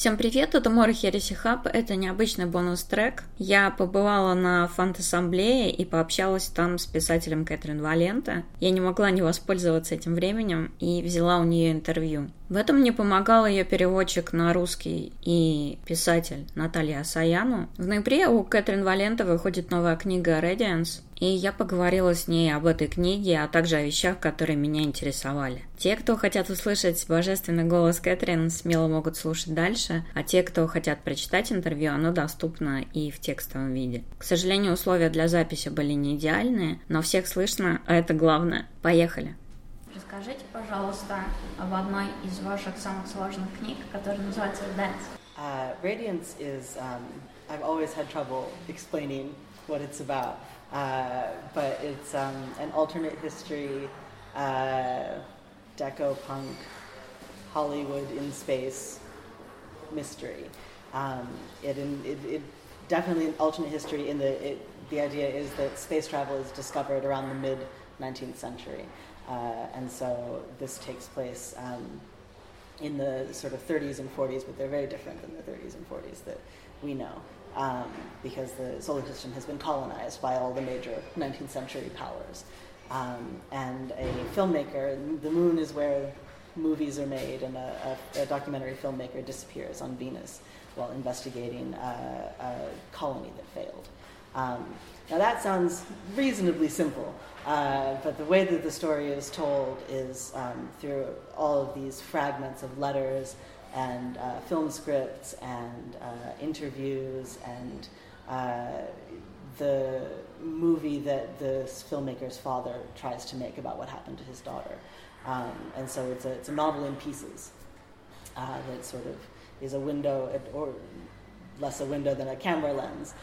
Всем привет, это Мора Хереси Хаб, это необычный бонус-трек. Я побывала на фан-ассамблее и пообщалась там с писателем Кэтрин Валенто. Я не могла не воспользоваться этим временем и взяла у нее интервью. В этом мне помогал ее переводчик на русский и писатель Наталья Асаяну. В ноябре у Кэтрин Валенто выходит новая книга «Radiance», и я поговорила с ней об этой книге, а также о вещах, которые меня интересовали. Те, кто хотят услышать божественный голос Кэтрин, смело могут слушать дальше, а те, кто хотят прочитать интервью, оно доступно и в текстовом виде. К сожалению, условия для записи были не идеальные, но всех слышно, а это главное. Поехали! Расскажите, пожалуйста, об одной из ваших самых сложных книг, которая называется «Dance». Radiance is, I've always had trouble explaining what it's about. But it's an alternate history, deco-punk, Hollywood in space mystery. It definitely an alternate history in the idea is that space travel is discovered around the mid-19th century. And so this takes place in the sort of 30s and 40s, but they're very different than the 30s and 40s that we know. Because the solar system has been colonized by all the major 19th century powers. And a filmmaker, the moon is where movies are made, and a documentary filmmaker disappears on Venus while investigating a colony that failed. Now that sounds reasonably simple, but the way that the story is told is through all of these fragments of letters and film scripts and interviews and the movie that the filmmaker's father tries to make about what happened to his daughter. And so it's a novel in pieces that sort of is a window, or less a window than a camera lens,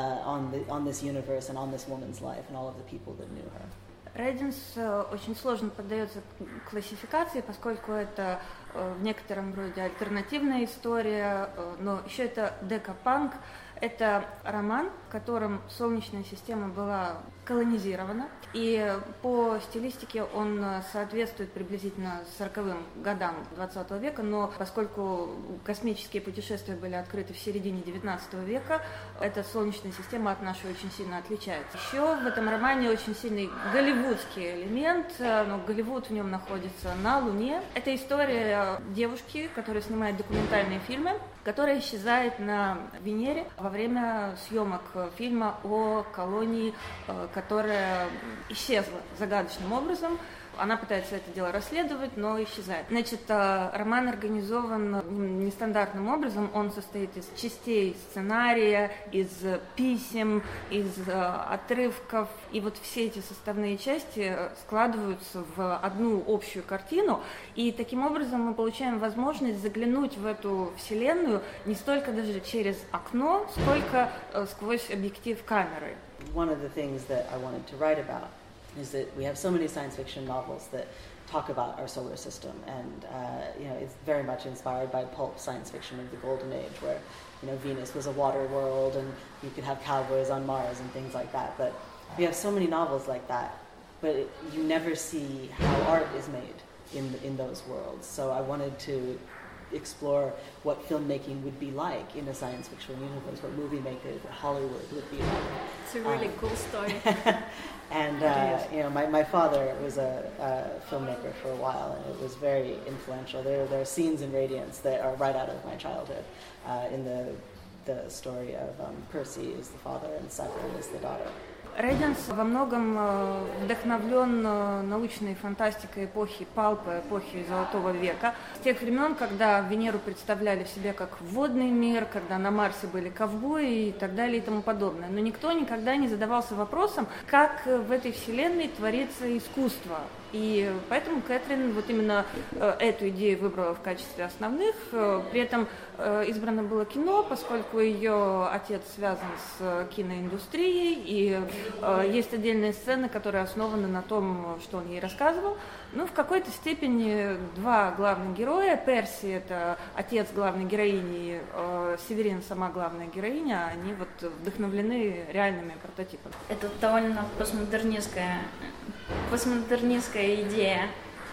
on this universe and on this woman's life and all of the people that knew her. Radiance очень сложно поддается классификации, поскольку это в некотором роде альтернативная история, но еще это декапанк. Это роман, в котором Солнечная система была колонизирована, и по стилистике он соответствует приблизительно 40-м годам 20 века, но поскольку космические путешествия были открыты в середине 19 века, эта Солнечная система от нашей очень сильно отличается. Еще в этом романе очень сильный голливудский элемент, но Голливуд в нем находится на Луне. Это история девушки, которая снимает документальные фильмы, которая исчезает на Венере во время съемок фильма о колонии, которая исчезла загадочным образом. Она пытается это дело расследовать, но исчезает. Значит, роман организован нестандартным образом. Он состоит из частей сценария, из писем, из отрывков. И вот все эти составные части складываются в одну общую картину. И таким образом мы получаем возможность заглянуть в эту вселенную не столько даже через окно, сколько сквозь объектив камеры. One of the things that I wanted to write about is that we have so many science fiction novels that talk about our solar system, and it's very much inspired by pulp science fiction of the golden age, where Venus was a water world and you could have cowboys on Mars and things like that. But we have so many novels like that, but you never see how art is made in those worlds. So I wanted to explore what filmmaking would be like in a science fiction universe, what movie makers, what Hollywood would be like. It's a really cool story. And my father was a filmmaker for a while, and it was very influential. There are scenes in Radiance that are right out of my childhood. In the story of Percy is the father and Severin is the daughter. Radiance во многом вдохновлен научной фантастикой эпохи палпа, эпохи Золотого века. С тех времен, когда Венеру представляли в себе как водный мир, когда на Марсе были ковбои и так далее и тому подобное. Но никто никогда не задавался вопросом, как в этой вселенной творится искусство. И поэтому Кэтрин вот именно эту идею выбрала в качестве основных. При этом избрано было кино, поскольку ее отец связан с киноиндустрией, и есть отдельные сцены, которые основаны на том, что он ей рассказывал. Ну, в какой-то степени два главных героя, Перси — это отец главной героини, Северин — сама главная героиня, они вот вдохновлены реальными прототипами. Это довольно постмодернистская идея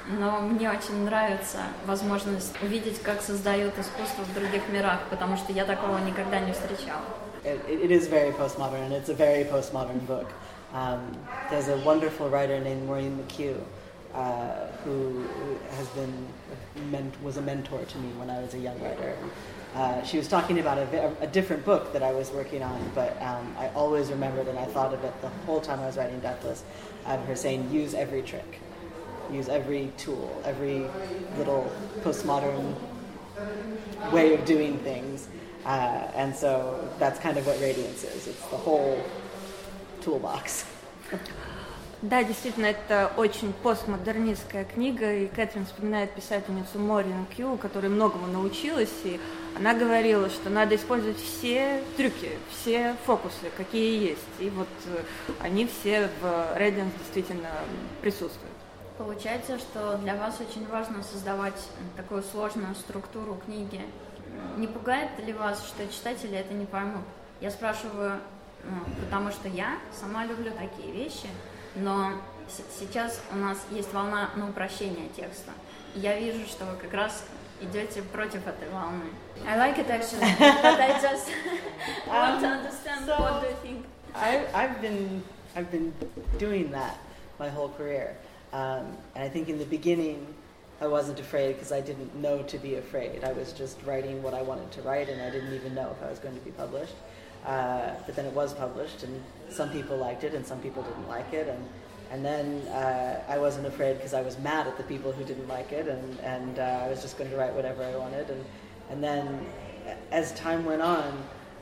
но мне очень нравится возможность увидеть, как создают искусство в других мирах, потому что я такого никогда не встречала. It is very postmodern, and it's a very postmodern book. There's a wonderful writer named Maureen McHugh who was a mentor to me when I was a young writer. She was talking about a different book that I was working on, but I always remembered, and I thought of it the whole time I was writing Deathless, her saying, use every trick, use every tool, every little postmodern way of doing things. And so that's kind of what Radiance is. It's the whole toolbox. Да, действительно, это очень постмодернистская книга, и Кэтрин вспоминает писательницу Морин Кью, которая многому научилась, и она говорила, что надо использовать все трюки, все фокусы, какие есть, и вот они все в Radiance действительно присутствуют. Получается, что для вас очень важно создавать такую сложную структуру книги. Не пугает ли вас, что читатели это не поймут? Я спрашиваю, потому что я сама люблю такие вещи, но сейчас у нас есть волна на упрощение текста. И я вижу, что вы как раз идете против этой волны. I like it actually, but I just want to understand what do you think. I've been doing that my whole career, and I think in the beginning I wasn't afraid because I didn't know to be afraid. I was just writing what I wanted to write, and I didn't even know if I was going to be published. But then it was published, and some people liked it, and some people didn't like it, and then I wasn't afraid because I was mad at the people who didn't like it, and I was just going to write whatever I wanted, and then as time went on,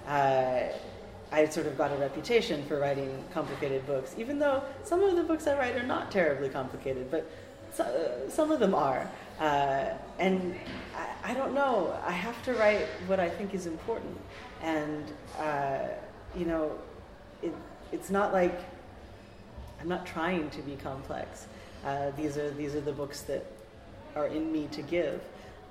I sort of got a reputation for writing complicated books, even though some of the books I write are not terribly complicated, but some of them are, and I don't know. I have to write what I think is important, and it's not like I'm not trying to be complex. These are the books that are in me to give.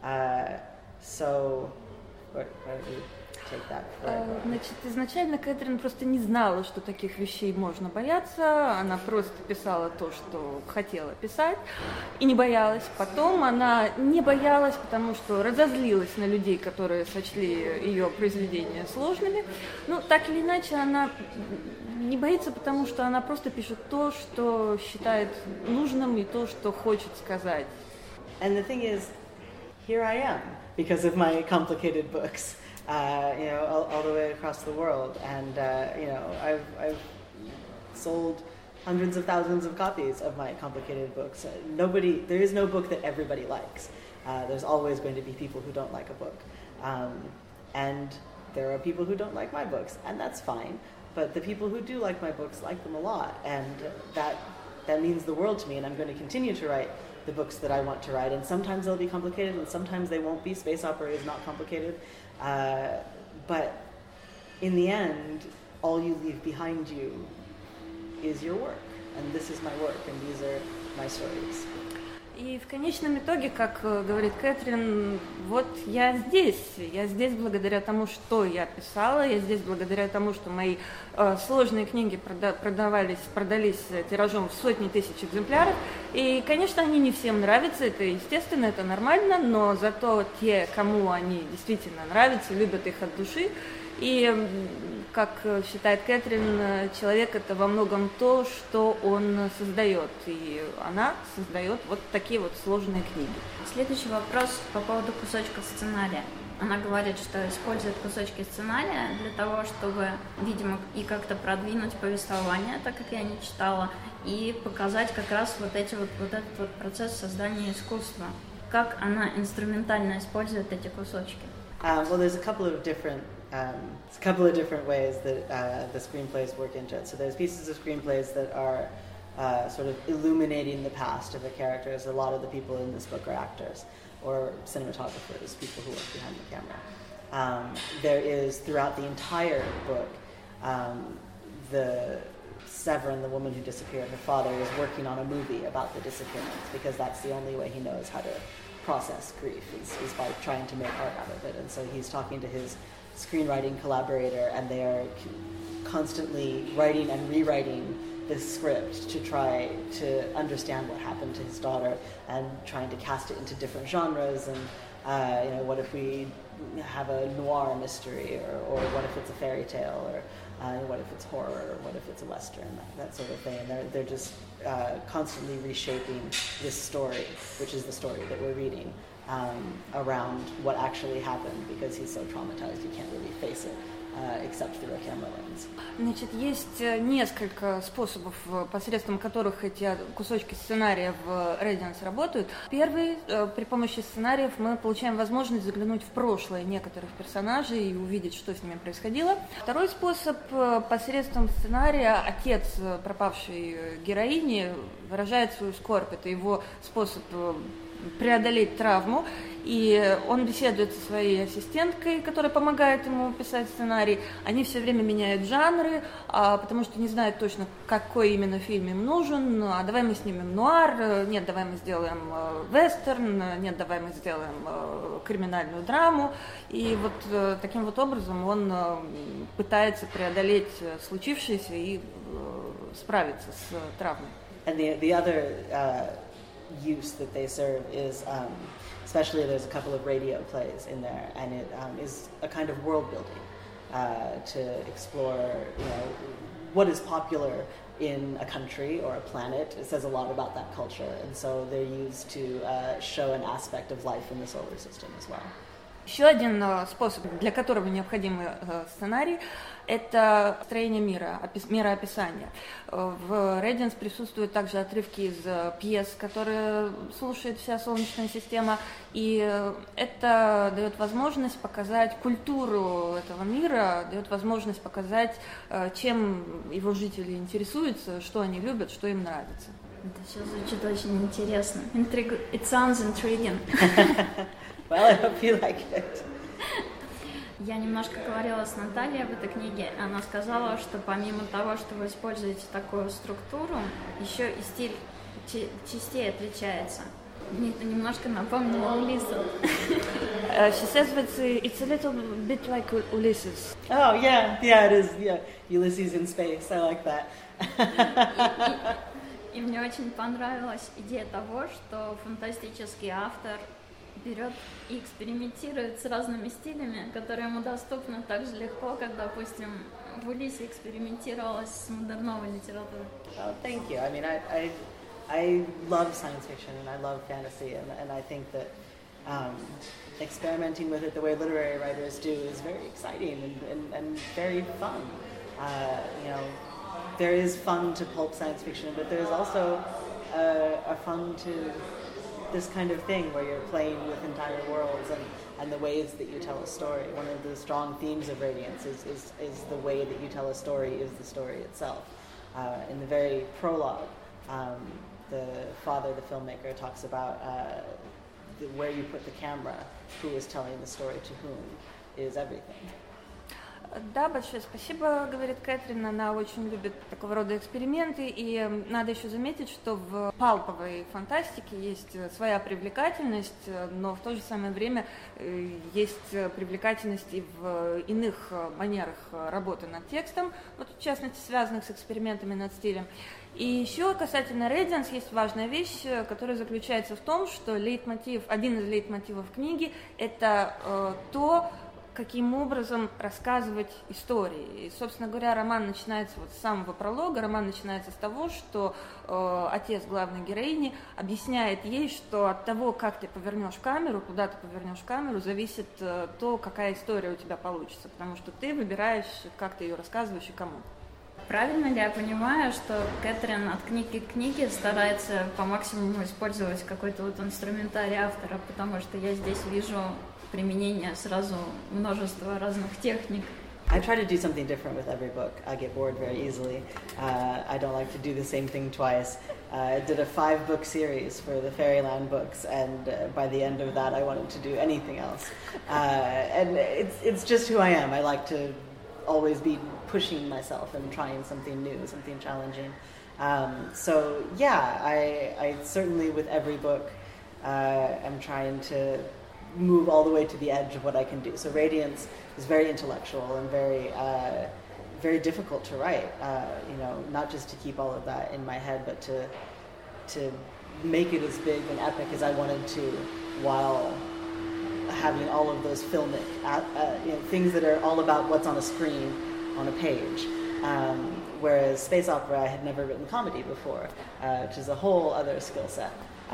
So, where do you take that? Значит, изначально Кэтрин просто не знала, что таких вещей можно бояться. Она просто писала то, что хотела писать, и не боялась. Потом она не боялась, потому что разозлилась на людей, которые сочли ее произведения сложными. Ну, так или иначе, она не боится, потому что она просто пишет то, что считает нужным, и то, что хочет сказать. And the thing is, here I am, because of my complicated books. All the way across the world, and I've sold hundreds of thousands of copies of my complicated books. There is no book that everybody likes. There's always going to be people who don't like a book, and there are people who don't like my books, and that's fine. But the people who do like my books like them a lot, and that means the world to me. And I'm going to continue to write the books that I want to write, and sometimes they'll be complicated, and sometimes they won't be. Space opera is not complicated. But in the end, all you leave behind you is your work, and this is my work, and these are my stories. И в конечном итоге, как говорит Кэтрин, вот я здесь благодаря тому, что я писала, я здесь благодаря тому, что мои сложные книги продались тиражом в сотни тысяч экземпляров, и, конечно, они не всем нравятся, это естественно, это нормально, но зато те, кому они действительно нравятся, любят их от души. И, как считает Кэтрин, человек — это во многом то, что он создает, и она создает вот такие вот сложные книги. Следующий вопрос по поводу кусочков сценария. Она говорит, что использует кусочки сценария для того, чтобы, видимо, и как-то продвинуть повествование, так как я не читала, и показать как раз вот этот процесс создания искусства. Как она инструментально использует эти кусочки? Well, there's a couple of different ways that the screenplays work into it. So there's pieces of screenplays that are sort of illuminating the past of the characters. A lot of the people in this book are actors or cinematographers, people who work behind the camera. There is, throughout the entire book, the Severin, the woman who disappeared, her father, is working on a movie about the disappearance because that's the only way he knows how to process grief is by trying to make art out of it. And so he's talking to his screenwriting collaborator, and they are constantly writing and rewriting the script to try to understand what happened to his daughter and trying to cast it into different genres and what if we have a noir mystery or what if it's a fairy tale or what if it's horror or what if it's a western, that sort of thing. And they're just constantly reshaping this story, which is the story that we're reading, around what actually happened because he's so traumatized he can't really face it. Except through a camera lens. Значит, есть несколько способов, посредством которых эти кусочки сценария в Radiance работают. Первый, при помощи сценариев мы получаем возможность заглянуть в прошлое некоторых персонажей и увидеть, что с ними происходило. Второй способ, посредством сценария отец пропавшей героини выражает свою скорбь. Это его способ преодолеть травму, и он беседует со своей ассистенткой, которая помогает ему писать сценарий. Они все время меняют жанры, потому что не знают точно, какой именно фильм им нужен. А давай мы снимем нуар, нет, давай мы сделаем вестерн, нет, давай мы сделаем криминальную драму. И вот таким вот образом он пытается преодолеть случившееся и справиться с травмой. And the other use that they serve is, especially there's a couple of radio plays in there, and it is a kind of world building to explore, what is popular in a country or a planet. It says a lot about that culture, and so they're used to show an aspect of life in the solar system as well. Еще один способ, для которого необходим сценарий, это строение мира, мироописание. В Radiance присутствуют также отрывки из пьес, которые слушает вся Солнечная система, и это дает возможность показать культуру этого мира, дает возможность показать, чем его жители интересуются, что они любят, что им нравится. Это все звучит очень интересно. It sounds intriguing. Well, I hope you like it. Я немножко говорила с Натальей об этой книге. Она сказала, что помимо того, что вы используете такую структуру, еще и стиль частей отличается. Мне это немножко напомнило Улисса. She says that it's a little bit like Ulysses. Oh, yeah, it is. Yeah, Ulysses in space. I like that. И мне очень понравилась идея того, что фантастический автор берет и экспериментирует с разными стилями, которые ему доступны так же легко, как, допустим, в Улиссе экспериментировалась с модерновой литературой. Oh, thank you. I mean, I love science fiction and I love fantasy, and I think that experimenting with it the way literary writers do is very exciting and very fun. There is fun to pulp science fiction, but there's also a fun to this kind of thing where you're playing with entire worlds and the ways that you tell a story. One of the strong themes of Radiance is the way that you tell a story is the story itself. In the very prologue, the father, the filmmaker, talks about where you put the camera, who is telling the story to whom, is everything. Да, большое спасибо, говорит Кэтрин, она очень любит такого рода эксперименты, и надо еще заметить, что в палповой фантастике есть своя привлекательность, но в то же самое время есть привлекательность и в иных манерах работы над текстом, вот в частности связанных с экспериментами над стилем. И еще касательно Radiance есть важная вещь, которая заключается в том, что один из лейтмотивов книги – это то, каким образом рассказывать истории. И, собственно говоря, роман начинается вот с самого пролога, роман начинается с того, что отец главной героини объясняет ей, что от того, как ты повернешь камеру, куда ты повернешь камеру, зависит то, какая история у тебя получится, потому что ты выбираешь, как ты ее рассказываешь и кому. Правильно ли я понимаю, что Кэтрин от книги к книге старается по максимуму использовать какой-то вот инструментарий автора, потому что я здесь вижу применение сразу множества разных техник. I try to do something different with every book. I get bored very easily. I don't like to do the same thing twice. I did a 5-book series for the Fairyland books, and by the end of that I wanted to do anything else. And it's just who I am. I like to always be pushing myself and trying something new, something challenging. So yeah, I certainly with every book am trying to move all the way to the edge of what I can do. So Radiance is very intellectual and very very difficult to write. Not just to keep all of that in my head, but to make it as big and epic as I wanted to, while having all of those filmic things that are all about what's on a screen, on a page. Whereas space opera, I had never written comedy before, which is a whole other skill set.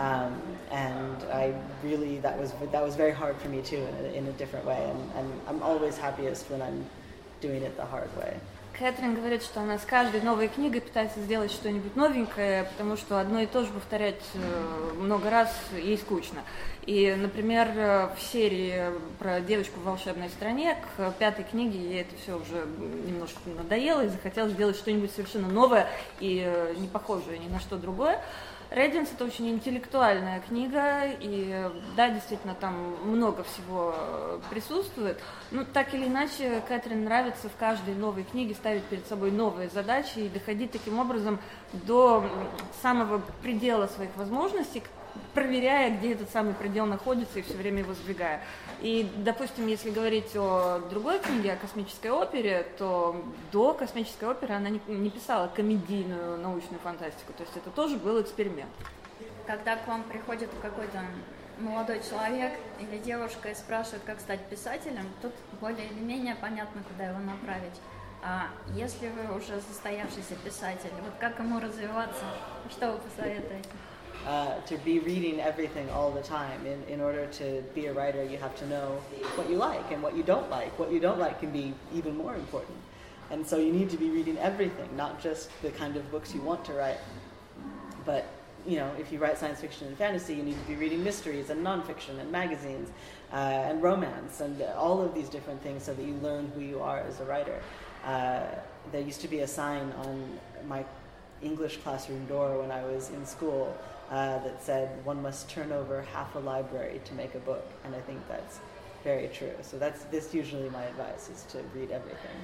And I really, that was very hard for me too, in a different way. And I'm always happiest when I'm doing it the hard way. Кэтрин говорит, что она с каждой новой книгой пытается сделать что-нибудь новенькое, потому что одно и то же повторять много раз ей скучно. И, например, в серии про девочку в волшебной стране к 5-й книге ей это все уже немножко надоело и захотелось сделать что-нибудь совершенно новое и не похожее ни на что другое. Рэдианс — это очень интеллектуальная книга, и да, действительно, там много всего присутствует. Но так или иначе, Кэтрин нравится в каждой новой книге ставить перед собой новые задачи и доходить таким образом до самого предела своих возможностей, проверяя, где этот самый предел находится, и все время его сдвигая. И, допустим, если говорить о другой книге, о космической опере, то до космической оперы она не писала комедийную научную фантастику, то есть это тоже был эксперимент. Когда к вам приходит какой-то молодой человек или девушка и спрашивает, как стать писателем, тут более или менее понятно, куда его направить. А если вы уже состоявшийся писатель, вот как ему развиваться, что вы посоветуете? To be reading everything all the time. In order to be a writer, you have to know what you like and what you don't like. What you don't like can be even more important. And so you need to be reading everything, not just the kind of books you want to write. But, if you write science fiction and fantasy, you need to be reading mysteries and nonfiction and magazines and romance and all of these different things so that you learn who you are as a writer. There used to be a sign on my English classroom door when I was in school that said one must turn over half a library to make a book, and I think that's very true. So this usually my advice is to read everything.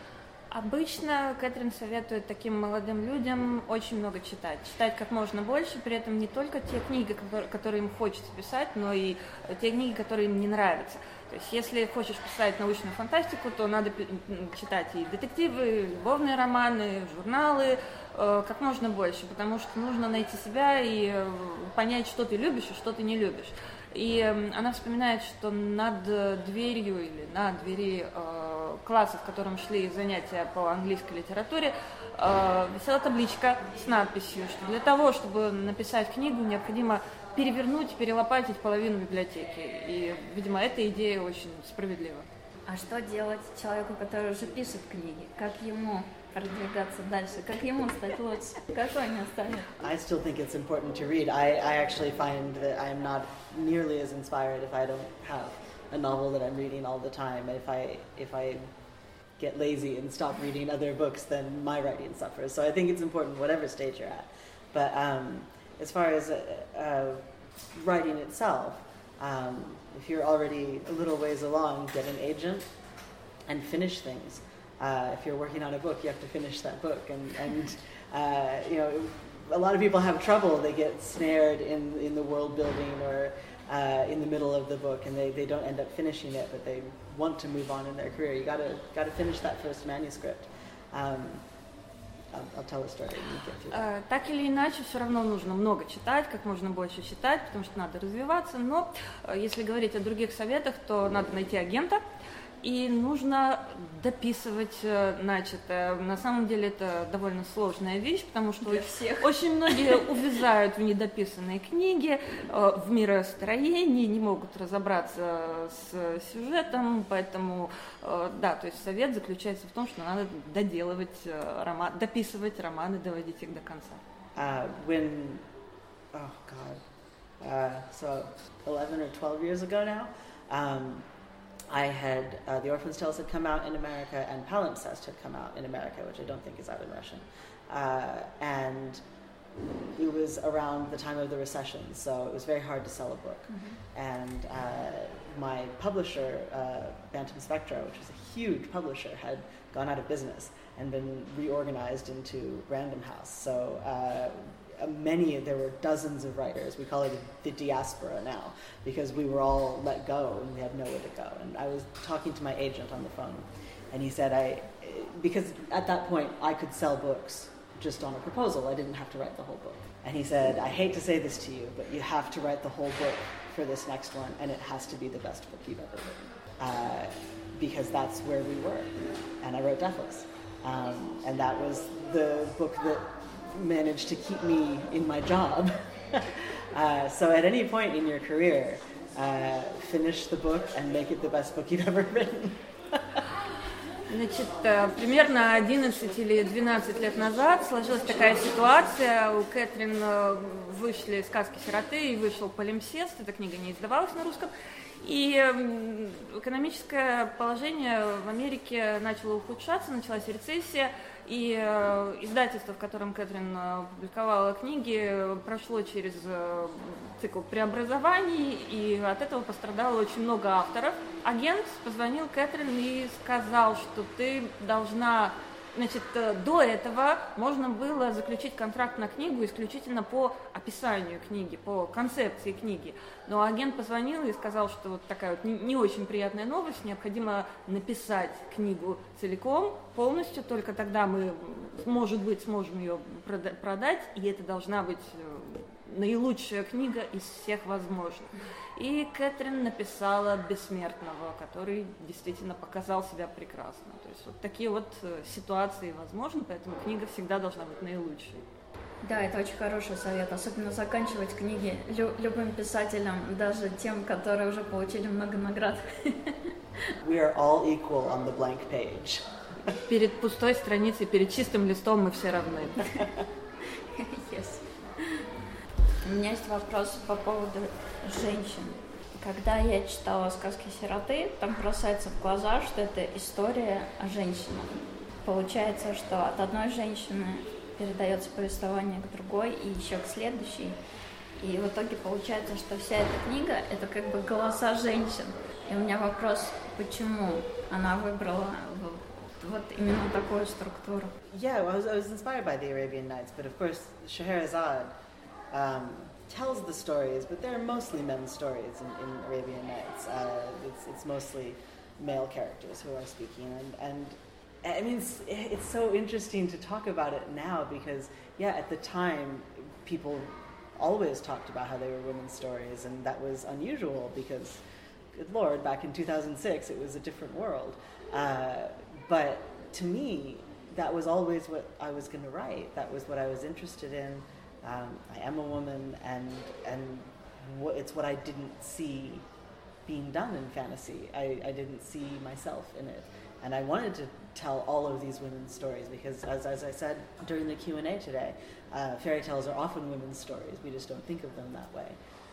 Обычно Кэтрин советует таким молодым людям очень много читать. Читать как можно больше, при этом не только те книги, которые им хочется писать, но и те книги, которые им не нравятся. То есть если хочешь писать научную фантастику, то надо читать и детективы, любовные романы, журналы, как можно больше, потому что нужно найти себя и понять, что ты любишь и что ты не любишь. И она вспоминает, что над дверью или на двери класса, в котором шли занятия по английской литературе, висела табличка с надписью, что для того, чтобы написать книгу, необходимо перевернуть, перелопатить половину библиотеки. И, видимо, эта идея очень справедлива. А что делать человеку, который уже пишет книги? Как ему продвигаться дальше? Как ему стать лучше? Какой не оставит? I still think it's important to read. I actually find that I'm not nearly as inspired if I don't have a novel that I'm reading all the time. If I get lazy and stop reading other books, then my writing suffers. So I think it's important whatever stage you're at. But as far as writing itself, if you're already a little ways along, get an agent and finish things. If you're working on a book, you have to finish that book. And a lot of people have trouble. They get snared in the world building or in the middle of the book, and they don't end up finishing it, but they want to move on in their career. You gotta finish that first manuscript. I'll tell a story. Так или иначе, все равно нужно много читать, как можно больше читать, потому что надо развиваться. Но если говорить о других советах, то надо найти агента, и нужно дописывать начатое. На самом деле это довольно сложная вещь, потому что очень многие увязают в недописанные книги, в миростроении, не могут разобраться с сюжетом, поэтому, да, то есть совет заключается в том, что надо доделывать дописывать романы, доводить их до конца. So 11 or 12 years ago now, I had, The Orphan's Tales had come out in America, and Palimpsest had come out in America, which I don't think is out in Russian. And it was around the time of the recession, so it was very hard to sell a book. Mm-hmm. And my publisher, Bantam Spectra, which was a huge publisher, had gone out of business and been reorganized into Random House. So there were dozens of writers. We call it the diaspora now, because we were all let go and we had nowhere to go. And I was talking to my agent on the phone, and he said, because at that point I could sell books just on a proposal. I didn't have to write the whole book. And he said, I hate to say this to you, but you have to write the whole book for this next one, and it has to be the best book you've ever written. Because that's where we were. And I wrote Deathless. And that was the book that managed to keep me in my job. So at any point in your career, finish the book and make it the best book you've ever written. Значит, примерно 11 или 12 лет назад сложилась такая ситуация. У Кэтрин вышли «Сказки сироты» и вышел «Полимсест». Эта книга не издавалась на русском. И экономическое положение в Америке начало ухудшаться, началась рецессия, и издательство, в котором Кэтрин публиковала книги, прошло через цикл преобразований, и от этого пострадало очень много авторов. Агент позвонил Кэтрин и сказал, что ты должна... Значит, до этого можно было заключить контракт на книгу исключительно по описанию книги, по концепции книги. Но агент позвонил и сказал, что вот такая вот не очень приятная новость, необходимо написать книгу целиком, полностью, только тогда мы, может быть, сможем ее продать, и это должна быть наилучшая книга из всех возможных. И Кэтрин написала «Бессмертного», который действительно показал себя прекрасно. То есть вот такие вот ситуации возможны, поэтому книга всегда должна быть наилучшей. Да, это очень хороший совет, особенно заканчивать книги любым писателям, даже тем, которые уже получили много наград. We are all equal on the blank page. Перед пустой страницей, перед чистым листом мы все равны. Yes. У меня есть вопрос по поводу женщин. Когда я читала «Сказки сироты», там бросается в глаза, что это история о женщинах. Получается, что от одной женщины передается повествование к другой и еще к следующей. И в итоге получается, что вся эта книга — это как бы голоса женщин. И у меня вопрос, почему она выбрала вот именно такую структуру? Yeah, well, I was inspired by the Arabian Nights, but of course Scheherazade tells the stories, but they're mostly men's stories in Arabian Nights. It's mostly male characters who are speaking, and I mean it's so interesting to talk about it now because at the time people always talked about how they were women's stories, and that was unusual because, good Lord, back in 2006 it was a different world. But to me, that was always what I was going to write. That was what I was interested in. I am a woman, and it's what I didn't see being done in fantasy. I didn't see myself in it, and I wanted to tell all of these women's stories because, as I said during the Q&A today, fairy tales are often women's stories. We just don't think of them that way.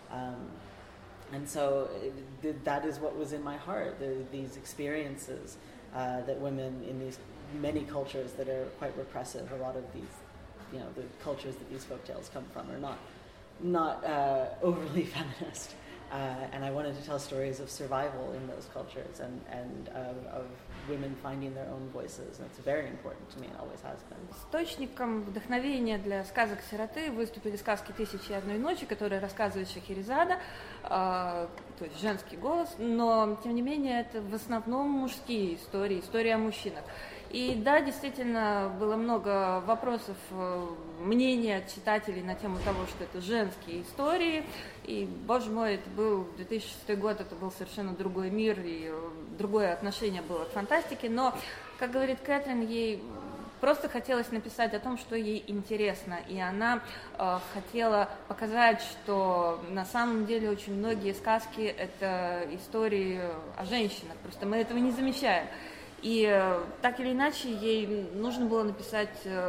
And so that is what was in my heart, these experiences that women in these many cultures that are quite repressive, a lot of these, the cultures that these folktales come from are not overly feminist. And I wanted to tell stories of survival in those cultures and of women finding their own voices. And it's very important to me, and always has been. Источником вдохновения для сказок сироты выступили сказки «Тысячи и одной ночи», которые рассказывает Шахерезада, то есть женский голос, но, тем не менее, это в основном мужские истории о мужчинах. И да, действительно, было много вопросов, мнений от читателей на тему того, что это женские истории. И, боже мой, это был 2006 год, это был совершенно другой мир, и другое отношение было к фантастике. Но, как говорит Кэтрин, ей просто хотелось написать о том, что ей интересно. И она хотела показать, что на самом деле очень многие сказки — это истории о женщинах. Просто мы этого не замечаем. И так или иначе ей нужно было написать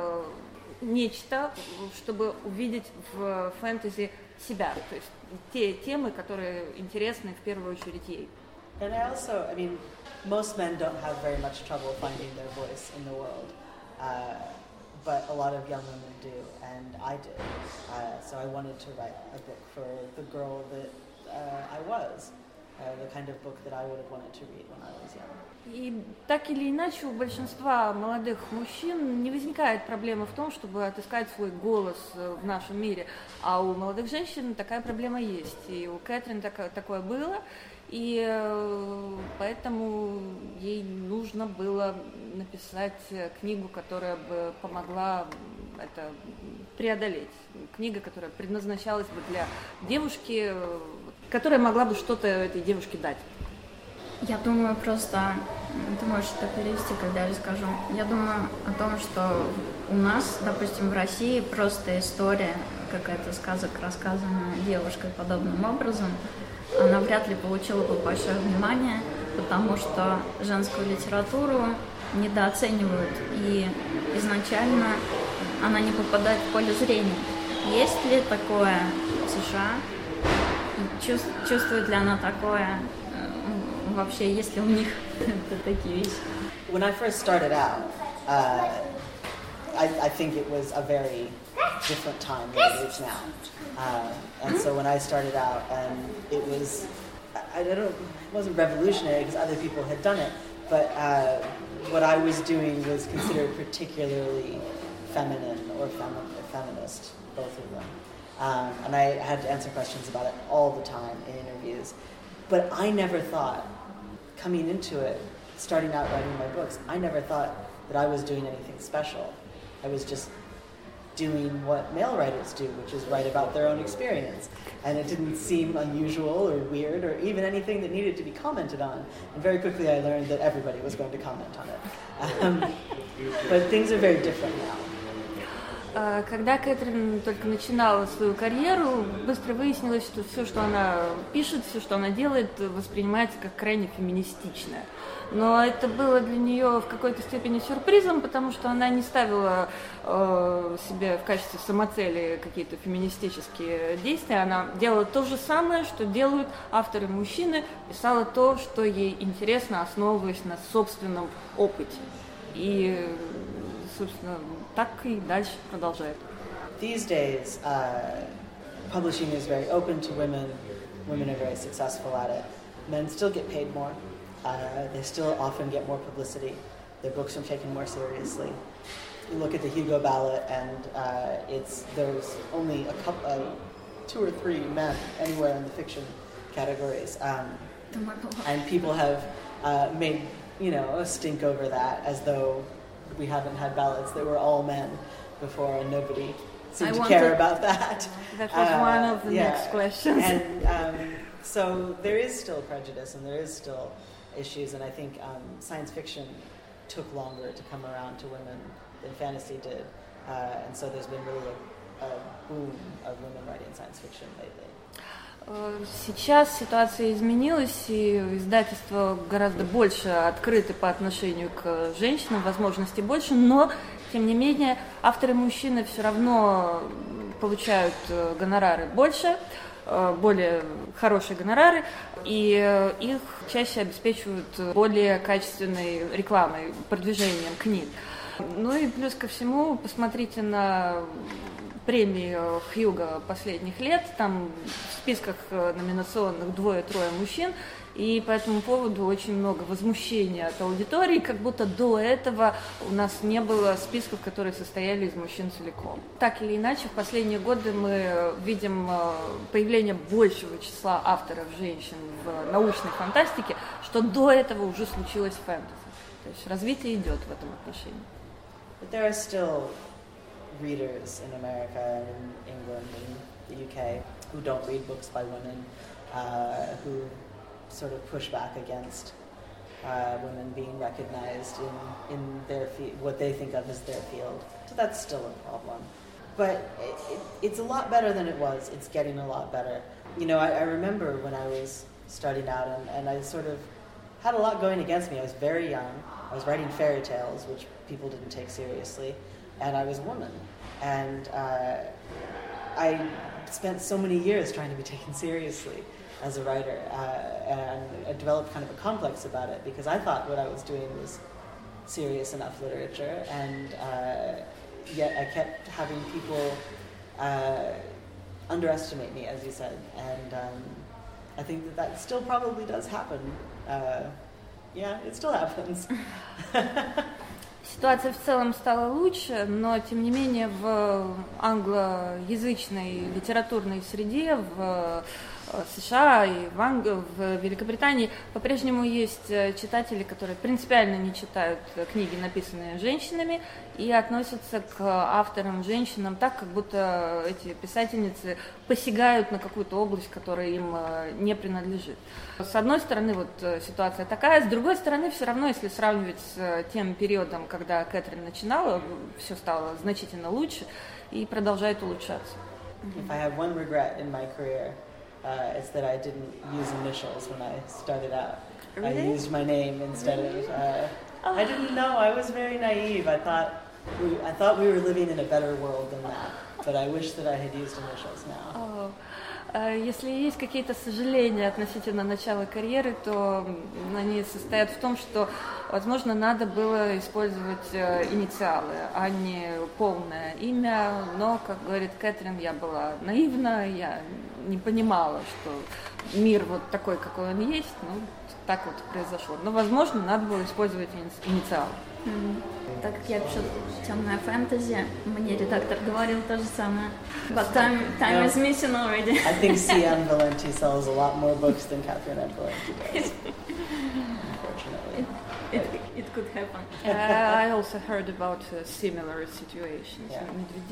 нечто, чтобы увидеть в фэнтези себя, то есть те темы, которые интересны в первую очередь ей. And I mean, most men don't have very much trouble finding their voice in the world, but a lot of young women do, and I did. So I wanted to write a book for the girl that I was. the kind of book that I would have wanted to read when I was young. И так или иначе у большинства молодых мужчин не возникает проблемы в том, чтобы отыскать свой голос в нашем мире, а у молодых женщин такая проблема есть. И у Кэтрин такое было, и поэтому ей нужно было написать книгу, которая бы помогла это преодолеть. Книга, которая предназначалась бы для девушки, которая могла бы что-то этой девушке дать. Я думаю, просто, ты можешь это перевести, когда я расскажу. Я думаю о том, что у нас, допустим, в России просто история, какая-то сказок, рассказанная девушкой подобным образом, она вряд ли получила бы большое внимание, потому что женскую литературу недооценивают, и изначально она не попадает в поле зрения. Есть ли такое в США? Чувствует ли она такое? Вообще, есть ли у них такие вещи? When I first started out, I think it was a very different time than it is now. And so when I started out, it was, it wasn't revolutionary because other people had done it, but what I was doing was considered particularly feminine or feminist, both of them. And I had to answer questions about it all the time in interviews. But I never thought, coming into it, starting out writing my books, I never thought that I was doing anything special. I was just doing what male writers do, which is write about their own experience. And it didn't seem unusual or weird or even anything that needed to be commented on. And very quickly I learned that everybody was going to comment on it. But things are very different now. Когда Кэтрин только начинала свою карьеру, быстро выяснилось, что все, что она пишет, все, что она делает, воспринимается как крайне феминистичное. Но это было для нее в какой-то степени сюрпризом, потому что она не ставила себе в качестве самоцели какие-то феминистические действия. Она делала то же самое, что делают авторы-мужчины, писала то, что ей интересно, основываясь на собственном опыте. И, собственно, так и дальше продолжает. These days, publishing is very open to women. Women are very successful at it. Men still get paid more. They still often get more publicity. Their books are taken more seriously. You look at the Hugo ballot, and there's only two or three men anywhere in the fiction categories, and people have made a stink over that, as though we haven't had ballots that were all men before, and nobody seemed to care about that. That was one of the next questions. And so there is still prejudice, and there is still issues, and I think science fiction took longer to come around to women than fantasy did, and so there's been really a boom of women writing science fiction lately. Сейчас ситуация изменилась, и издательства гораздо больше открыты по отношению к женщинам, возможностей больше, но, тем не менее, авторы-мужчины все равно получают гонорары больше, более хорошие гонорары, и их чаще обеспечивают более качественной рекламой, продвижением книг. Ну и плюс ко всему, посмотрите на премии Хьюго последних лет, там в списках номинационных 2-3 мужчин, и по этому поводу очень много возмущения от аудитории, как будто до этого у нас не было списков, которые состояли из мужчин целиком. Так или иначе, в последние годы мы видим появление большего числа авторов женщин в научной фантастике, что до этого уже случилось в фэнтези. То есть развитие идет в этом отношении. But there are still readers in America and in England and the UK who don't read books by women, who sort of push back against women being recognized in their what they think of as their field. So that's still a problem. But it's a lot better than it was. It's getting a lot better. I remember when I was starting out and I sort of had a lot going against me. I was very young. I was writing fairy tales, which people didn't take seriously. And I was a woman, and I spent so many years trying to be taken seriously as a writer, and I developed kind of a complex about it because I thought what I was doing was serious enough literature, and yet I kept having people underestimate me, as you said, and I think that still probably does happen. Yeah, it still happens. Ситуация в целом стала лучше, но тем не менее в англоязычной литературной среде в США и в Великобритании по-прежнему есть читатели, которые принципиально не читают книги, написанные женщинами, и относятся к авторам, женщинам так, как будто эти писательницы посягают на какую-то область, которая им не принадлежит. С одной стороны, вот ситуация такая, с другой стороны, все равно, если сравнивать с тем периодом, когда Кэтрин начинала, все стало значительно лучше и продолжает улучшаться. If I have one regret in my career, it's that I didn't use initials when I started out. Really? I used my name instead of. I didn't know. I was very naive. I thought we were living in a better world than that. But I wish that I had used initials now. Если есть какие-то сожаления относительно начала карьеры, то они состоят в том, что, возможно, надо было использовать инициалы, а не полное имя. Но, как говорит Кэтрин, я была наивна, я не понимала, что мир вот такой, какой он есть. Ну, так вот произошло. Но, возможно, надо было использовать инициалы. Так как я пишу темное фэнтези, мне редактор говорил то же самое. But time is missing already. I think C.M. Valenti sells a lot more books than Catherine M. Valenti does. Unfortunately. It could happen. I also heard about similar situations. Yeah.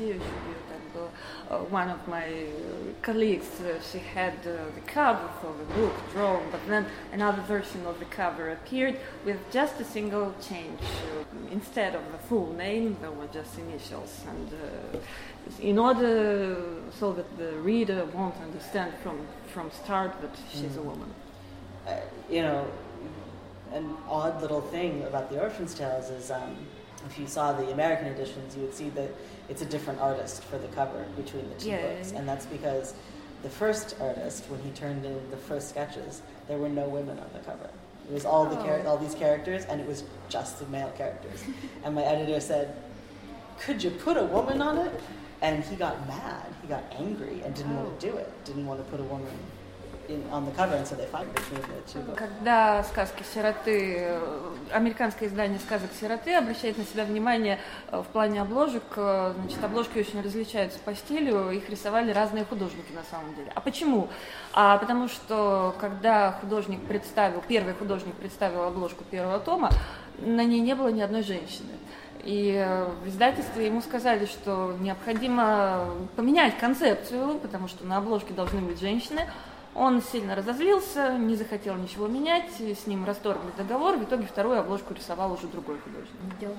One of my colleagues, she had the cover for the book drawn, but then another version of the cover appeared with just a single change. Instead of the full name, there were just initials. And in order so that the reader won't understand from start that she's a woman. You know, an odd little thing about the Orphan's Tales is if you saw the American editions, you would see that it's a different artist for the cover between the two books. And that's because the first artist, when he turned in the first sketches, there were no women on the cover. It was all all these characters, and it was just the male characters. And my editor said, "Could you put a woman on it?" And he got mad, he got angry, and didn't want to do it. Didn't want to put a woman on the cover, and so they fight between the two books. Когда сказки сироты, американское издание сказок сироты обращает на себя внимание в плане обложек, значит, обложки очень различаются по стилю, их рисовали разные художники на самом деле. А почему? Потому что когда первый художник представил обложку первого тома, на ней не было ни одной женщины. И в издательстве ему сказали, что необходимо поменять концепцию, потому что на обложке должны быть женщины. Он сильно разозлился, не захотел ничего менять, с ним расторгли договор, в итоге вторую обложку рисовал уже другой художник.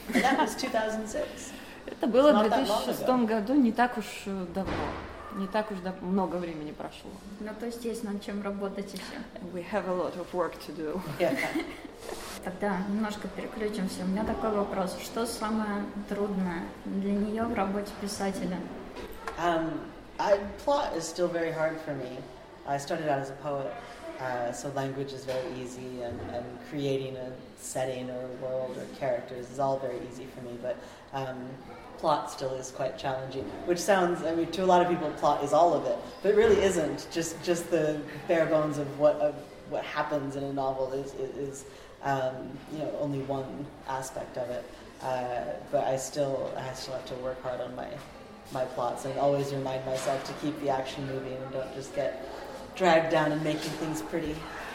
Это было в 2006 году, не так уж давно, не так уж много времени прошло. Ну, то есть есть над чем работать еще. We have a lot of work to do. Тогда немножко переключимся. У меня такой вопрос. Что самое трудное для нее в работе писателя? Plot is still very hard for me. I started out as a poet, so language is very easy, and creating a setting or a world or characters is all very easy for me, but plot still is quite challenging, which sounds, I mean, to a lot of people, plot is all of it, but it really isn't. Just the bare bones of what happens in a novel is you know, only one aspect of it, but I still have to work hard on my plots and always remind myself to keep the action moving and don't just get dragged down and making things pretty.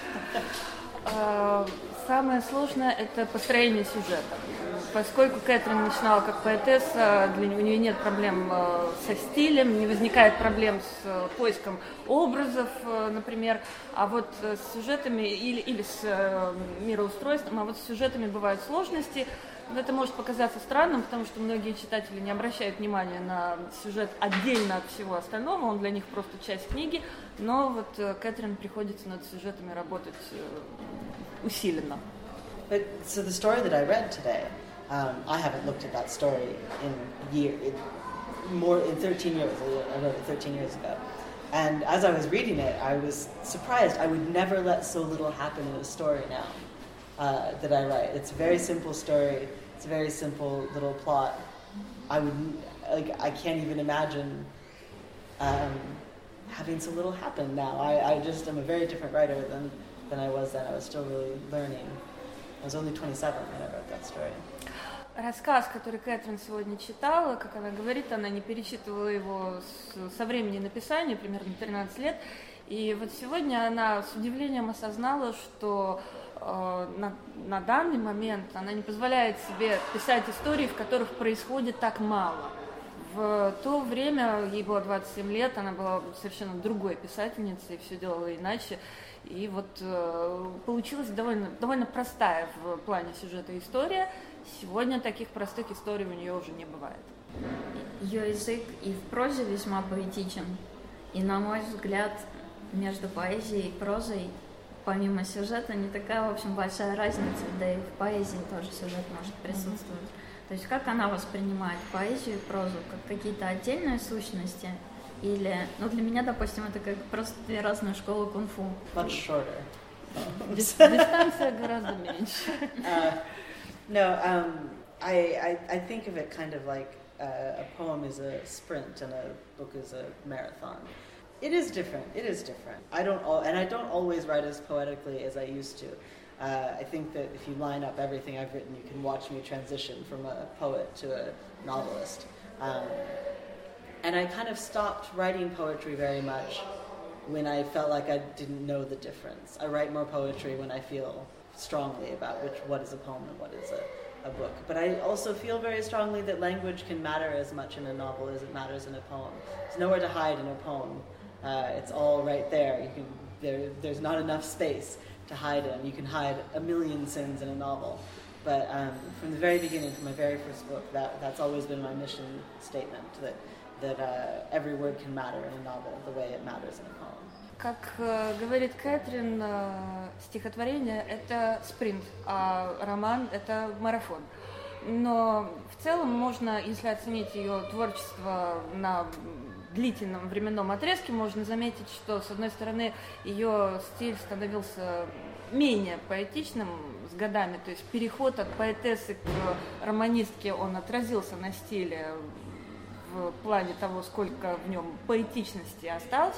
Самое сложное – это построение сюжета. Поскольку Кэтрин начинала как поэтесса, у нее нет проблем со стилем, не возникает проблем с поиском образов, например, а вот с сюжетами или с мироустройством, а вот с сюжетами бывают сложности. Это может показаться странным, потому что многие читатели не обращают внимания на сюжет отдельно от всего остального, он для них просто часть книги, но вот Кэтрин приходится над сюжетами работать усиленно. So the story that I read today, I haven't looked at that story in 13 years. I wrote it 13 years ago. And as I was reading it, I was surprised. I would never let so little happen in a story now. That I write. It's a very simple story. It's a very simple little plot. I can't even imagine having so little happen now. I just am a very different writer than I was then. I was still really learning. I was only 27 when I wrote that story. Рассказ, который Кэтрин сегодня читала, как она говорит, она не перечитывала его со времени написания, примерно 13 лет. И вот сегодня она с удивлением осознала, что на данный момент она не позволяет себе писать истории, в которых происходит так мало. В то время, ей было 27 лет, она была совершенно другой писательницей, все делала иначе. И вот получилась довольно простая в плане сюжета история. Сегодня таких простых историй у нее уже не бывает. Ее язык и в прозе весьма поэтичен. И, на мой взгляд, между поэзией и прозой, помимо сюжета, не такая, в общем, большая разница, да и в поэзии тоже сюжет может присутствовать. То есть как она воспринимает поэзию и прозу, как какие-то отдельные сущности, или, ну, для меня, допустим, это как просто две разные школы кунг-фу. Much shorter. Дистанция гораздо меньше. No, I think of it kind of like a poem is a sprint and a book is a marathon. It is different. I don't always write as poetically as I used to. I think that if you line up everything I've written, you can watch me transition from a poet to a novelist. And I kind of stopped writing poetry very much when I felt like I didn't know the difference. I write more poetry when I feel strongly about what is a poem and what is a book. But I also feel very strongly that language can matter as much in a novel as it matters in a poem. There's nowhere to hide in a poem. It's all right there. There's not enough space to hide in. You can hide a million sins in a novel. But from the very beginning, from my very first book, that's always been my mission statement, that every word can matter in a novel the way it matters in a poem. Как говорит Кэтрин, стихотворение – это спринт, а роман – это марафон. Но в целом можно, если оценить ее творчество на длительном временном отрезке, можно заметить, что, с одной стороны, ее стиль становился менее поэтичным с годами, то есть переход от поэтессы к романистке, он отразился на стиле в плане того, сколько в нем поэтичности осталось.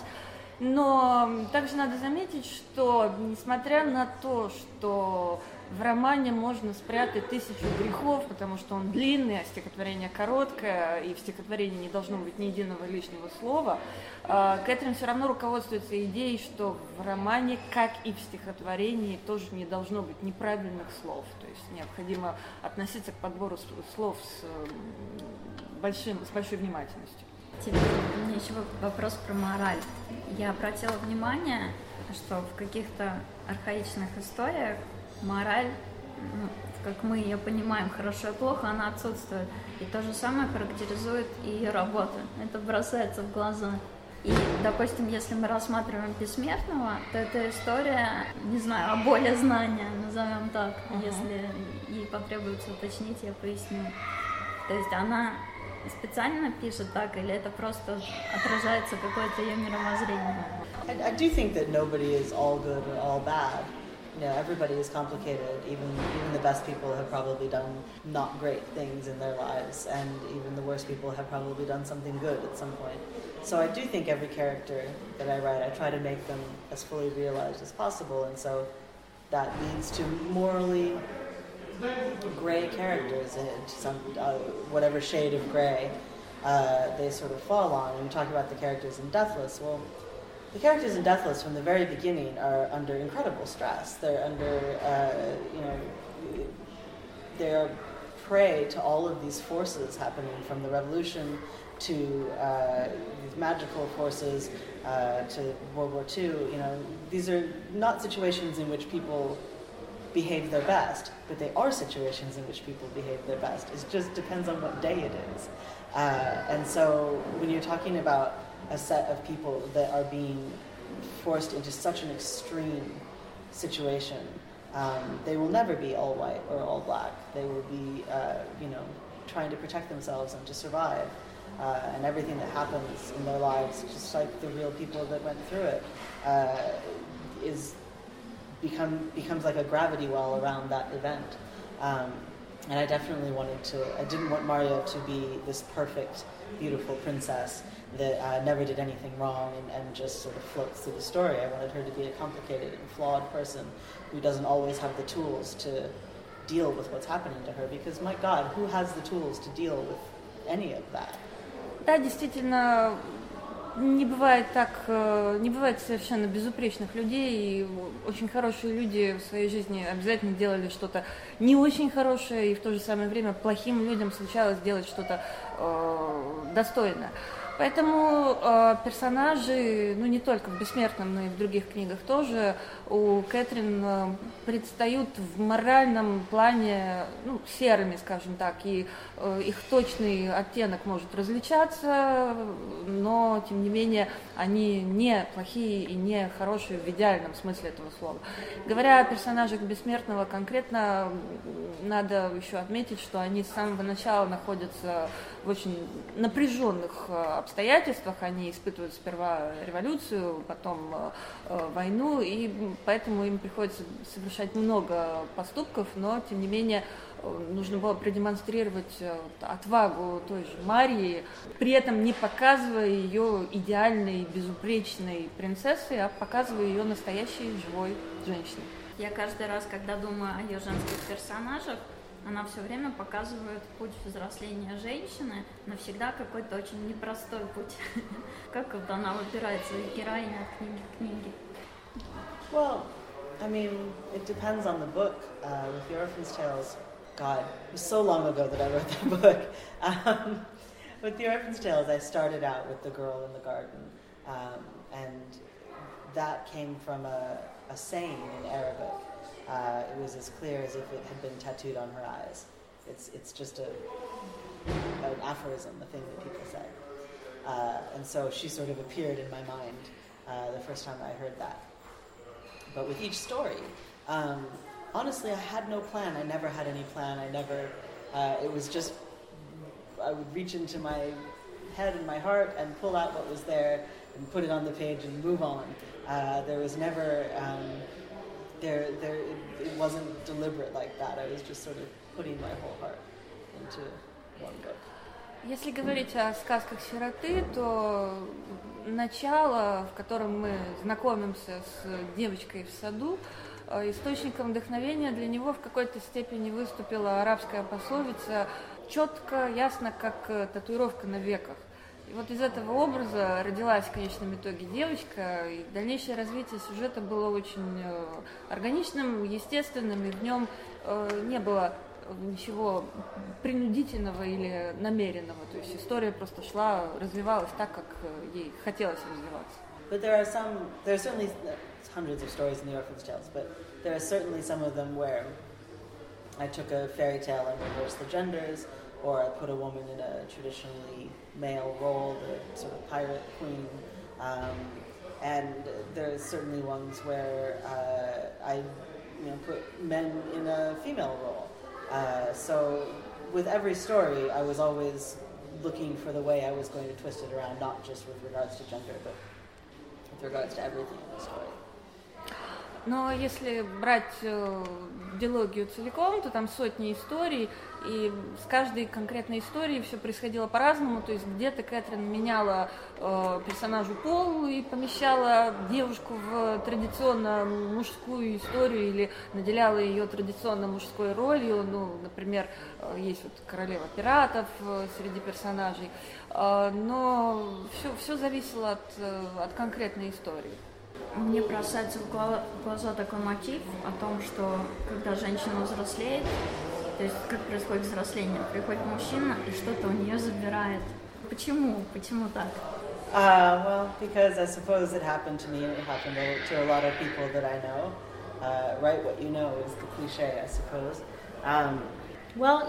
Но также надо заметить, что несмотря на то, что в романе можно спрятать 1000 грехов, потому что он длинный, а стихотворение короткое, и в стихотворении не должно быть ни единого лишнего слова, Кэтрин все равно руководствуется идеей, что в романе, как и в стихотворении, тоже не должно быть неправильных слов. То есть необходимо относиться к подбору слов с большой внимательностью. Теперь у меня еще вопрос про мораль. Я обратила внимание, что в каких-то архаичных историях мораль, как мы ее понимаем, хорошо и плохо, она отсутствует. И то же самое характеризует и ее работа. Это бросается в глаза. И, допустим, если мы рассматриваем Бессмертного, то это история, не знаю, о боли знания, назовем так. Если ей потребуется уточнить, я поясню. То есть она специально пишет так, или это просто отражается какое-то ее мировоззрение? I do think that nobody is all good or all bad. You know, everybody is complicated. Even the best people have probably done not great things in their lives, and even the worst people have probably done something good at some point. So I do think every character that I write, I try to make them as fully realized as possible, and so that leads to morally gray characters in some whatever shade of gray they sort of fall on. When you talk about the characters in Deathless, well, the characters in Deathless from the very beginning are under incredible stress. They're under, they're prey to all of these forces happening from the revolution to these magical forces to World War II. You know, these are not situations in which people behave their best, but they are situations in which people behave their best. It just depends on what day it is. And so when you're talking about a set of people that are being forced into such an extreme situation, they will never be all white or all black. They will be, trying to protect themselves and to survive. And everything that happens in their lives, just like the real people that went through it, becomes like a gravity well around that event. And I definitely I didn't want Maria to be this perfect, beautiful princess that never did anything wrong and just sort of floats through the story. I wanted her to be a complicated and flawed person who doesn't always have the tools to deal with what's happening to her, because, my God, who has the tools to deal with any of that? Да, действительно, не бывает совершенно безупречных людей, и очень хорошие люди в своей жизни обязательно делали что-то не очень хорошее, и в то же самое время плохим людям случалось делать что-то достойное. Поэтому персонажи, не только в «Бессмертном», но и в других книгах тоже, у Кэтрин предстают в моральном плане серыми, скажем так, и их точный оттенок может различаться, но, тем не менее, они не плохие и не хорошие в идеальном смысле этого слова. Говоря о персонажах «Бессмертного», конкретно надо еще отметить, что они с самого начала находятся в очень напряженных обстоятельствах. Они испытывают сперва революцию, потом войну, и поэтому им приходится совершать много поступков, но, тем не менее, нужно было продемонстрировать отвагу той же Марии, при этом не показывая ее идеальной, безупречной принцессой, а показывая ее настоящей, живой женщиной. Я каждый раз, когда думаю о ее женских персонажах, она все время показывает путь взросления женщины, но всегда какой-то очень непростой путь. Как вот она выбирает своих героинь от книги к книге? Well, I mean, it depends on the book. With The Orphan's Tales, God, it was so long ago that I wrote that book. With The Orphan's Tales, I started out with the girl in the garden, and that came from a saying in Arabic. It was as clear as if it had been tattooed on her eyes. It's just an aphorism, a thing that people say. And so she sort of appeared in my mind the first time I heard that. But with each story, honestly, I had no plan. I never had any plan. It was just, I would reach into my head and my heart and pull out what was there and put it on the page and move on. There was never... it wasn't deliberate like that. I was just sort of putting my whole heart into one book. Если говорить о сказках сироты, то начало, в котором мы знакомимся с девочкой в саду, источником вдохновения для него в какой-то степени выступила арабская пословица «четко, ясно, как татуировка на веках». И вот из этого образа родилась в конечном итоге девочка, и дальнейшее развитие сюжета было очень органичным, естественным, и в нем не было ничего принудительного или намеренного. То есть история просто шла, развивалась так, как ей хотелось развиваться. But there are certainly hundreds of stories in The Orphan's Tales, but there are certainly some of them where I took a fairy tale and reversed the genders, or I put a woman in a traditionally male role, the sort of pirate queen. And there's certainly ones where I put men in a female role. So with every story, I was always looking for the way I was going to twist it around, not just with regards to gender, but with regards to everything in the story. Но если брать дилогию целиком, то там сотни историй, и с каждой конкретной историей все происходило по-разному. То есть где-то Кэтрин меняла персонажу пол и помещала девушку в традиционно мужскую историю или наделяла ее традиционно мужской ролью. Например, есть вот королева пиратов среди персонажей. Но все зависело от конкретной истории. Мне бросается в глаза такой мотив о том, что когда женщина взрослеет, то есть как происходит взросление, приходит мужчина и что-то у нее забирает. Почему? Почему так? Well, because I suppose it happened to me and it happened to a lot of people that I know. Write what you know is the cliche, I suppose. Well,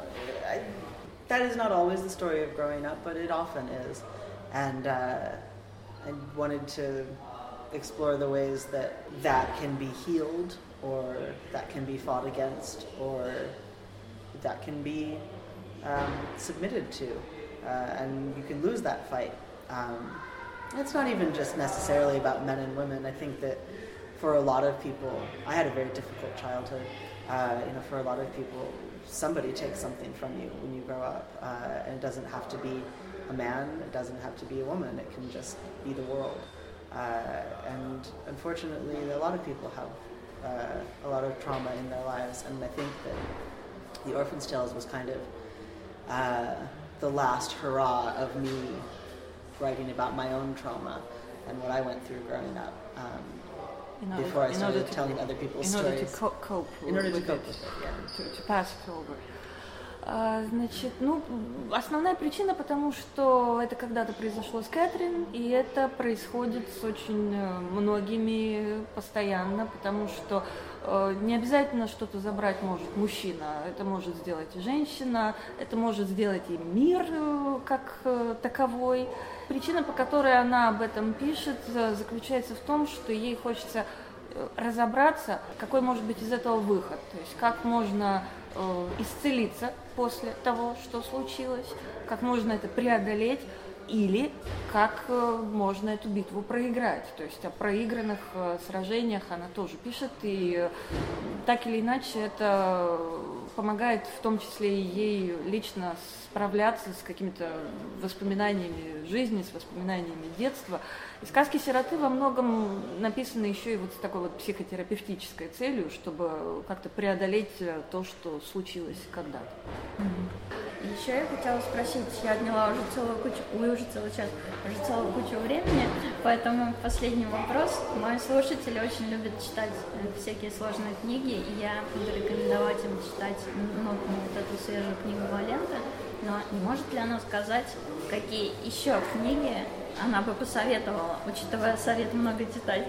that is not always the story of growing up, but it often is. And I wanted to explore the ways that can be healed, or that can be fought against, or that can be submitted to, and you can lose that fight. It's not even just necessarily about men and women. I think that for a lot of people, I had a very difficult childhood, For a lot of people, somebody takes something from you when you grow up, and it doesn't have to be a man, it doesn't have to be a woman, it can just be the world. And unfortunately, a lot of people have a lot of trauma in their lives, and I think that The Orphan's Tales was kind of the last hurrah of me writing about my own trauma and what I went through growing up. Before I started telling other people's stories. In order to cope with it, to pass it over. Значит, основная причина, потому что это когда-то произошло с Кэтрин, и это происходит с очень многими постоянно, потому что не обязательно что-то забрать может мужчина, это может сделать и женщина, это может сделать и мир как таковой. Причина, по которой она об этом пишет, заключается в том, что ей хочется разобраться, какой может быть из этого выход, то есть как можно исцелиться после того, что случилось, как можно это преодолеть или как можно эту битву проиграть. То есть о проигранных сражениях она тоже пишет, и так или иначе это помогает в том числе и ей лично справляться с какими-то воспоминаниями жизни, с воспоминаниями детства. И сказки сироты во многом написаны еще и вот с такой вот психотерапевтической целью, чтобы как-то преодолеть то, что случилось когда-то. Еще я хотела спросить, я отняла уже целую кучу времени, поэтому последний вопрос. Мои слушатели очень любят читать всякие сложные книги, и я буду рекомендовать им читать вот эту свежую книгу Валенты, но не может ли она сказать, какие еще книги она бы посоветовала, учитывая совет много читать?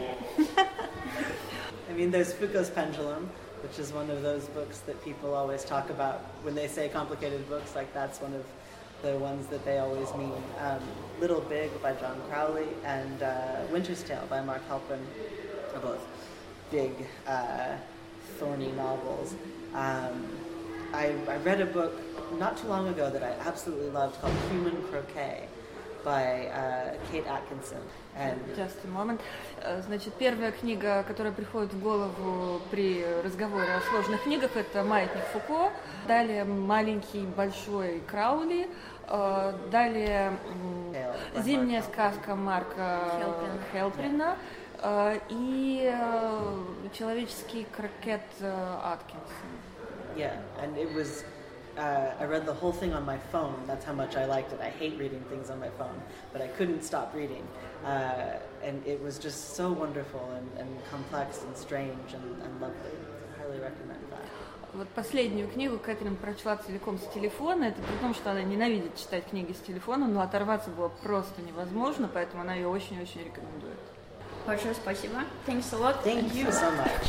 I mean, there's Foucault's Pendulum, which is one of those books that people always talk about when they say complicated books, like that's one of the ones that they always mean. Little Big by John Crowley and Winter's Tale by Mark Halpern are both big, thorny novels. I read a book not too long ago that I absolutely loved called Human Croquet by Kate Atkinson. Just a moment. Значит, первая книга, которая приходит в голову при разговоре о сложных книгах, это «Маятник Фуко», далее «Маленький большой Краули», далее «Зимняя сказка» Марка Хелприна и «Человеческий крокет» Аткинсон. Yeah, and it was I read the whole thing on my phone. That's how much I liked it. I hate reading things on my phone, but I couldn't stop reading. And it was just so wonderful and complex and strange and lovely. I highly recommend that. Вот последнюю книгу Кэтрин прочла целиком с телефона. Это при том, что она ненавидит читать книги с телефона, но оторваться было просто невозможно, поэтому она ее очень-очень рекомендует. Большое спасибо. Thanks a lot. Thank you so much.